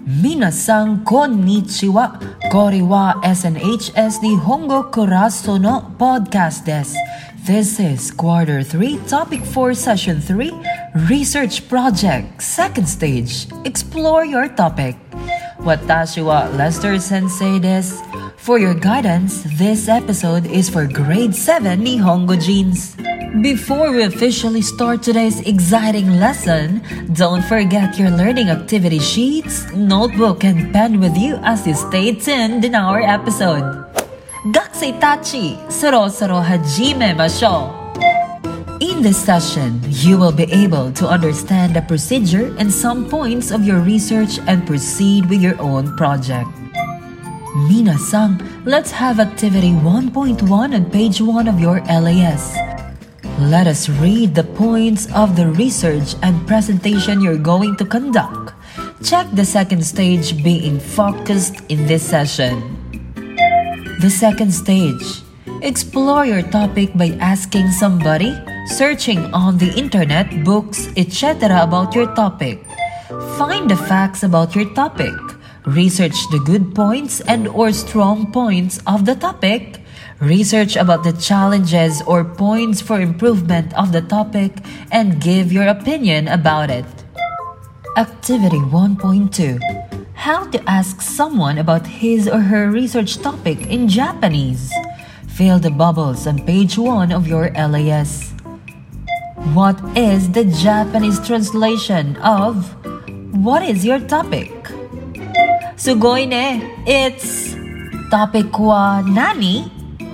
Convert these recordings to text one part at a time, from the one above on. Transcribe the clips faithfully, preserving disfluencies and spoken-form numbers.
Minasan konnichiwa. Kori wa S N H S Nihongo Kuraso no podcast desu. This is quarter three, topic four, session three, research project, second stage. Explore your topic. Watashi wa Lester Sensei desu. For your guidance, this episode is for grade seven Nihongo Genes. Before we officially start today's exciting lesson, don't forget your learning activity sheets, notebook, and pen with you as you stay tuned in our episode. Gakusei tachi, soro-soro hajime mashou. In this session, you will be able to understand the procedure and some points of your research and proceed with your own project. Minasan, let's have activity one point one on page one of your L A S. Let us read the points of the research and presentation you're going to conduct. Check the second stage being focused in this session. The second stage. Explore your topic by asking somebody, searching on the internet, books, et cetera about your topic. Find the facts about your topic. Research the good points and or strong points of the topic. Research about the challenges or points for improvement of the topic and give your opinion about it. Activity one point two. How to ask someone about his or her research topic in Japanese. Fill the bubbles on page one of your L A S. What is the Japanese translation of "What is your topic?" Sugoi ne. It's "Topic wa nani?"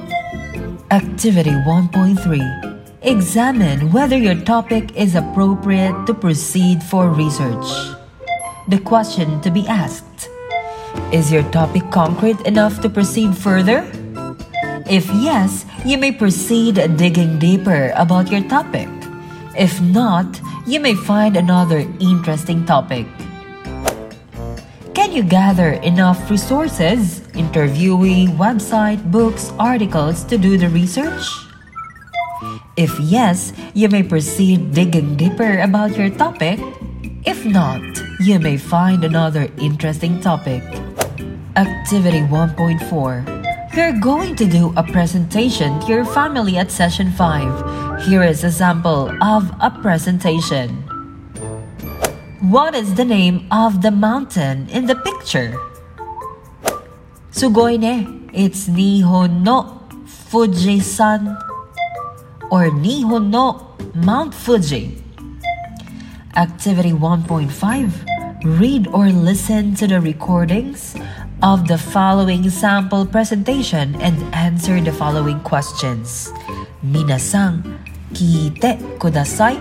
Activity one point three. Examine whether your topic is appropriate to proceed for research. The question to be asked: is your topic concrete enough to proceed further? If yes, you may proceed digging deeper about your topic. If not, you may find another interesting topic. Can you gather enough resources, interviewee, website, books, articles to do the research? If yes, you may proceed digging deeper about your topic. If not, you may find another interesting topic. Activity one point four. You're going to do a presentation to your family at session five. Here is a sample of a presentation. What is the name of the mountain in the picture? Sugoi ne. It's Nihon no Fujisan or Nihon no Mount Fuji. Activity one point five. Read or listen to the recordings of the following sample presentation and answer the following questions. Minasan, kiite kudasai.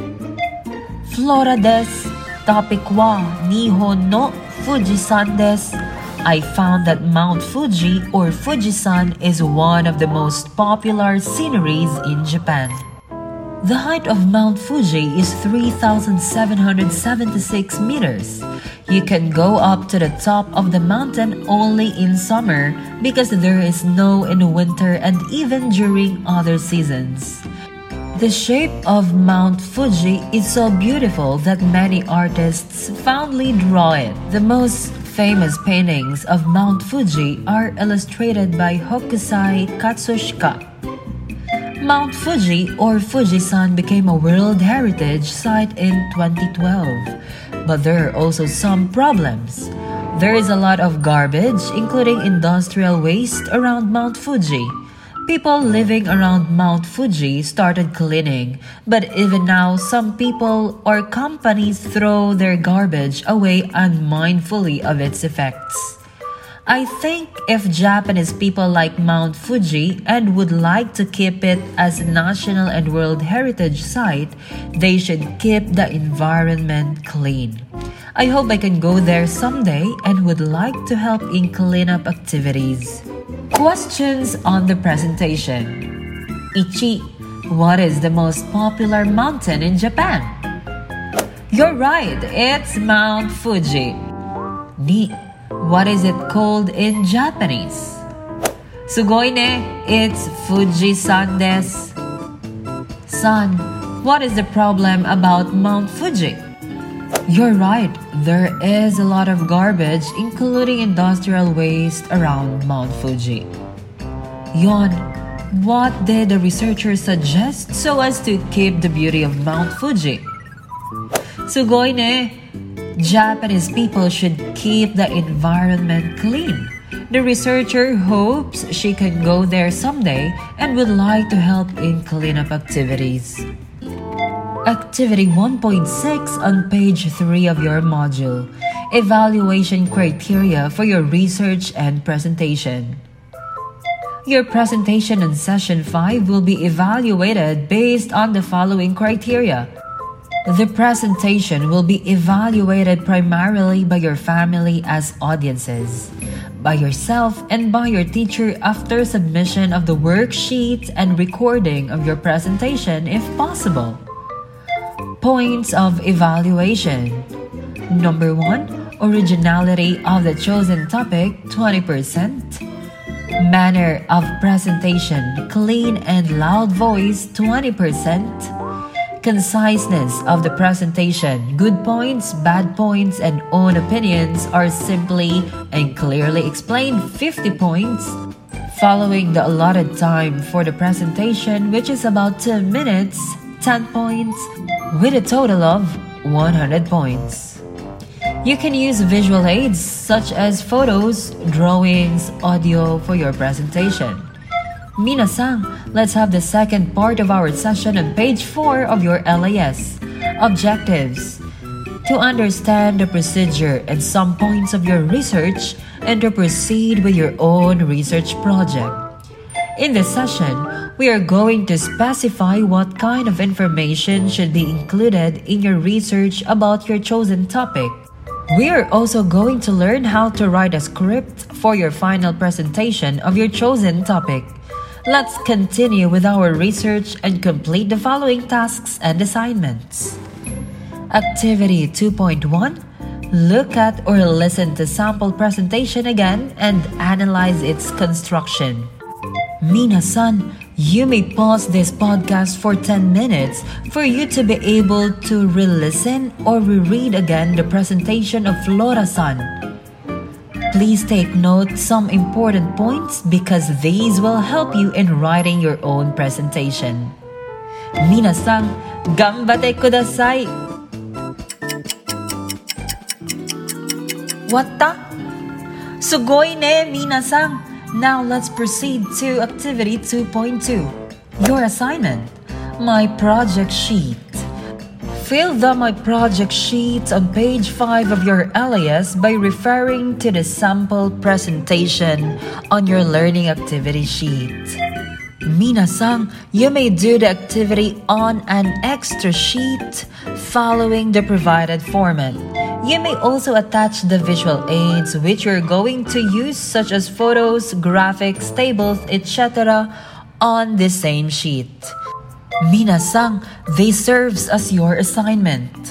Flora desu. Topic wa Nihon no Fujisan desu. I found that Mount Fuji or Fujisan is one of the most popular sceneries in Japan. The height of Mount Fuji is three thousand seven hundred seventy-six meters. You can go up to the top of the mountain only in summer because there is snow in winter and even during other seasons. The shape of Mount Fuji is so beautiful that many artists fondly draw it. The most famous paintings of Mount Fuji are illustrated by Hokusai Katsushika. Mount Fuji or Fujisan became a World Heritage Site in twenty twelve, but there are also some problems. There is a lot of garbage, including industrial waste, around Mount Fuji. People living around Mount Fuji started cleaning, but even now some people or companies throw their garbage away unmindfully of its effects. I think if Japanese people like Mount Fuji and would like to keep it as a national and World Heritage Site, they should keep the environment clean. I hope I can go there someday and would like to help in cleanup activities. Questions on the presentation. one. What is the most popular mountain in Japan? You're right, it's Mount Fuji. two. What is it called in Japanese? Sugoi ne, it's Fujisan desu. three. What is the problem about Mount Fuji? You're right, there is a lot of garbage, including industrial waste, around Mount Fuji. Yon, what did the researchers suggest so as to keep the beauty of Mount Fuji? Sugoi ne! Japanese people should keep the environment clean. The researcher hopes she can go there someday and would like to help in cleanup activities. Activity one point six on page three of your module. Evaluation criteria for your research and presentation. Your presentation in session five will be evaluated based on the following criteria. The presentation will be evaluated primarily by your family as audiences, by yourself and by your teacher after submission of the worksheet and recording of your presentation if possible. Points of evaluation. Number one, originality of the chosen topic, twenty percent. Manner of presentation, clean and loud voice, twenty percent. Conciseness of the presentation, good points, bad points, and own opinions are simply and clearly explained, fifty points. Following the allotted time for the presentation, which is about two minutes, ten points, with a total of one hundred points. You can use visual aids such as photos, drawings, audio for your presentation. Minasan, let's have the second part of our session on page four of your L A S. Objectives. To understand the procedure and some points of your research and to proceed with your own research project. In this session, we are going to specify what kind of information should be included in your research about your chosen topic. We are also going to learn how to write a script for your final presentation of your chosen topic. Let's continue with our research and complete the following tasks and assignments. Activity two point one. Look at or listen to sample presentation again and analyze its construction. Minasan, you may pause this podcast for ten minutes for you to be able to re-listen or reread again the presentation of Flora-san. Please take note some important points because these will help you in writing your own presentation. Minasan, ganbate kudasai! Watta? Sugoi ne, minasan! Now let's proceed to activity two point two. Your assignment, my project sheet. Fill the My Project sheet on page five of your L A S by referring to the sample presentation on your learning activity sheet. Minasan, you may do the activity on an extra sheet following the provided format. You may also attach the visual aids which you're going to use such as photos, graphics, tables, et cetera on the same sheet. Minasan, this serves as your assignment.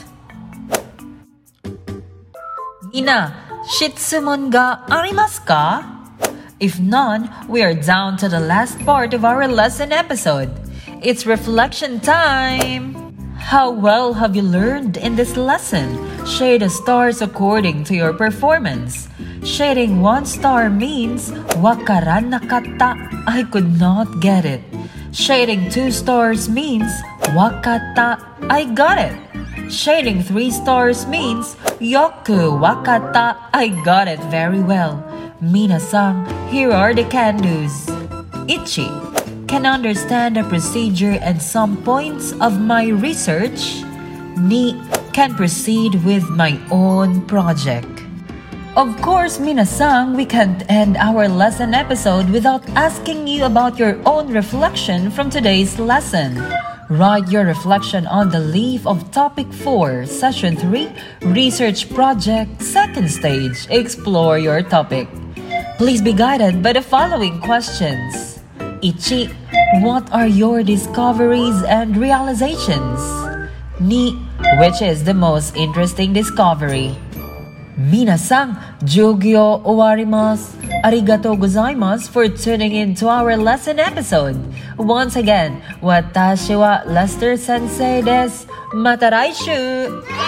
Mina, shitsumon ga arimasu ka? If none, we are down to the last part of our lesson episode. It's reflection time! How well have you learned in this lesson? Shade the stars according to your performance. Shading one star means wakaran nakatta, I could not get it. Shading two stars means wakatta, I got it. Shading three stars means yoku wakatta, I got it very well. Minasan, here are the can-dos. Ichi, can understand the procedure and some points of my research. Ni, can proceed with my own project. Of course, minasan, we can't end our lesson episode without asking you about your own reflection from today's lesson. Write your reflection on the leaf of topic four, session three, research project, second stage, explore your topic. Please be guided by the following questions. Ichi, what are your discoveries and realizations? Ni, which is the most interesting discovery? Minasan, jugyo owarimasu. Arigatou gozaimasu for tuning in to our lesson episode. Once again, watashi wa Lester Sensei desu. Mata raishu!